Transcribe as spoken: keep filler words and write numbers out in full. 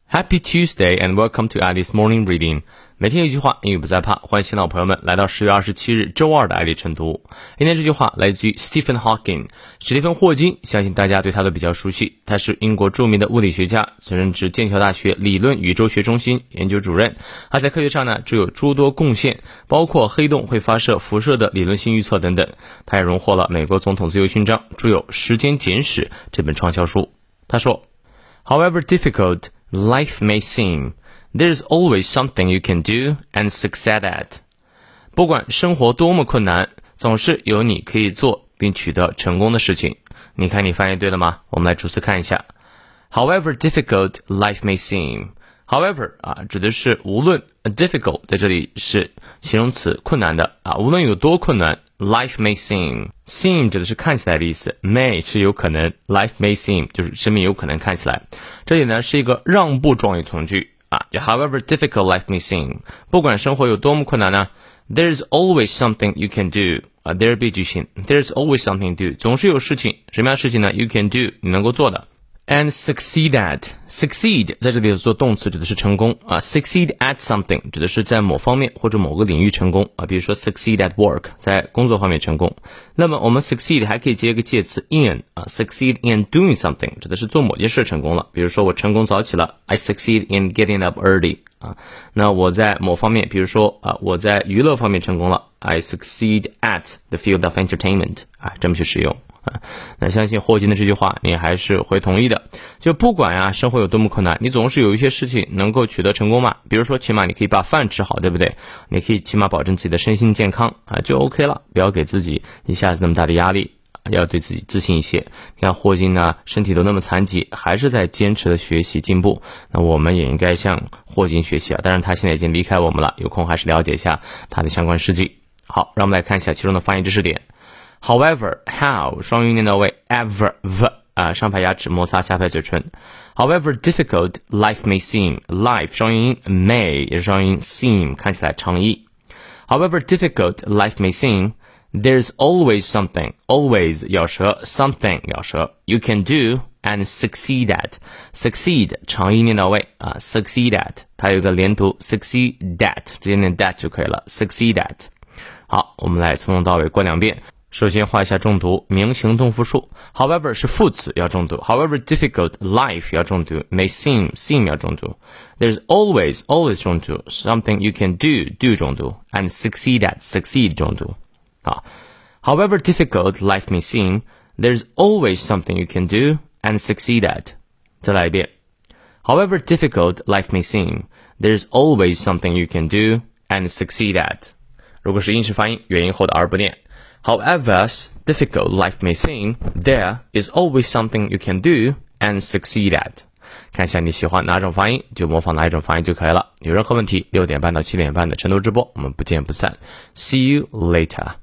Happy Tuesday and welcome to Alice Morning Reading。每天一句话，英语不再怕。欢迎新老朋友们来到十月二十七日周二的爱丽晨读。今天这句话来自于 Stephen Hawking， 史蒂芬·霍金，相信大家对他都比较熟悉。他是英国著名的物理学家，曾任职剑桥大学理论宇宙学中心研究主任。他在科学上呢，具有诸多贡献，包括黑洞会发射辐射的理论性预测等等。他也荣获了美国总统自由勋章，著有《时间简史》这本畅销书。他说 ，However difficult life may seem, there's always something you can do and succeed at. 不管生活多么困难，总是有你可以做并取得成功的事情。你看你翻译对了吗？我们来逐词看一下。However difficult life may seem. However 啊，指的是无论 difficult 在这里是形容词困难的啊，无论有多困难 life may seem. Seem 指的是看起来的意思 may 是有可能 life may seem 就是生命有可能看起来。这里呢是一个让步状语从句啊 However difficult life may seem. 不管生活有多么困难呢 There's always something you can do. 啊 there be 句型 There's always something to do. 总是有事情，什么样的事情呢 You can do 你能够做的。And succeed at. Succeed 在这里做动词指的是成功啊 Succeed at something 指的是在某方面或者某个领域成功啊，比如说 succeed at work 在工作方面成功。那么我们 succeed 还可以接一个介词 in 啊 Succeed in doing something 指的是做某件事成功了，比如说我成功早起了 I succeed in getting up early 啊。那我在某方面，比如说啊我在娱乐方面成功了 I succeed at the field of entertainment 啊，这么去使用。啊，那相信霍金的这句话你还是会同意的，就不管呀生活有多么困难，你总是有一些事情能够取得成功嘛，比如说起码你可以把饭吃好，对不对？你可以起码保证自己的身心健康啊，就 OK 了，不要给自己一下子那么大的压力，要对自己自信一些。你看霍金呢身体都那么残疾，还是在坚持的学习进步，那我们也应该向霍金学习啊，当然他现在已经离开我们了，有空还是了解一下他的相关事迹。好，让我们来看一下其中的发音知识点。However, how 双音念到位 ever v 啊，上排牙齿摩擦下排嘴唇。However difficult life may seem, life 双音 may 也是双音 seem 看起来长义。However difficult life may seem, there's always something, always 咬舌 something 咬舌 you can do and succeed at. Succeed 长音念到位啊 succeed at 它有一个连读 succeed at 直接念 that 就可以了 succeed at。好，我们来从头到尾过两遍。首先画一下重读，名形动复数 However 是副词要重读 However difficult life 要重读 May seem seem 要重读 There's always always 重读 Something you can do do 重读 And succeed at succeed 重读好 However difficult life may seem There's always something you can do and succeed at 再来一遍 However difficult life may seem There's always something you can do and succeed at 如果是英式发音元音后的 R 不念However difficult life may seem, there is always something you can do and succeed at. 看一下你喜欢哪种发音，就模仿哪一种发音就可以了。有任何问题，六点半到七点半的晨读直播，我们不见不散。See you later.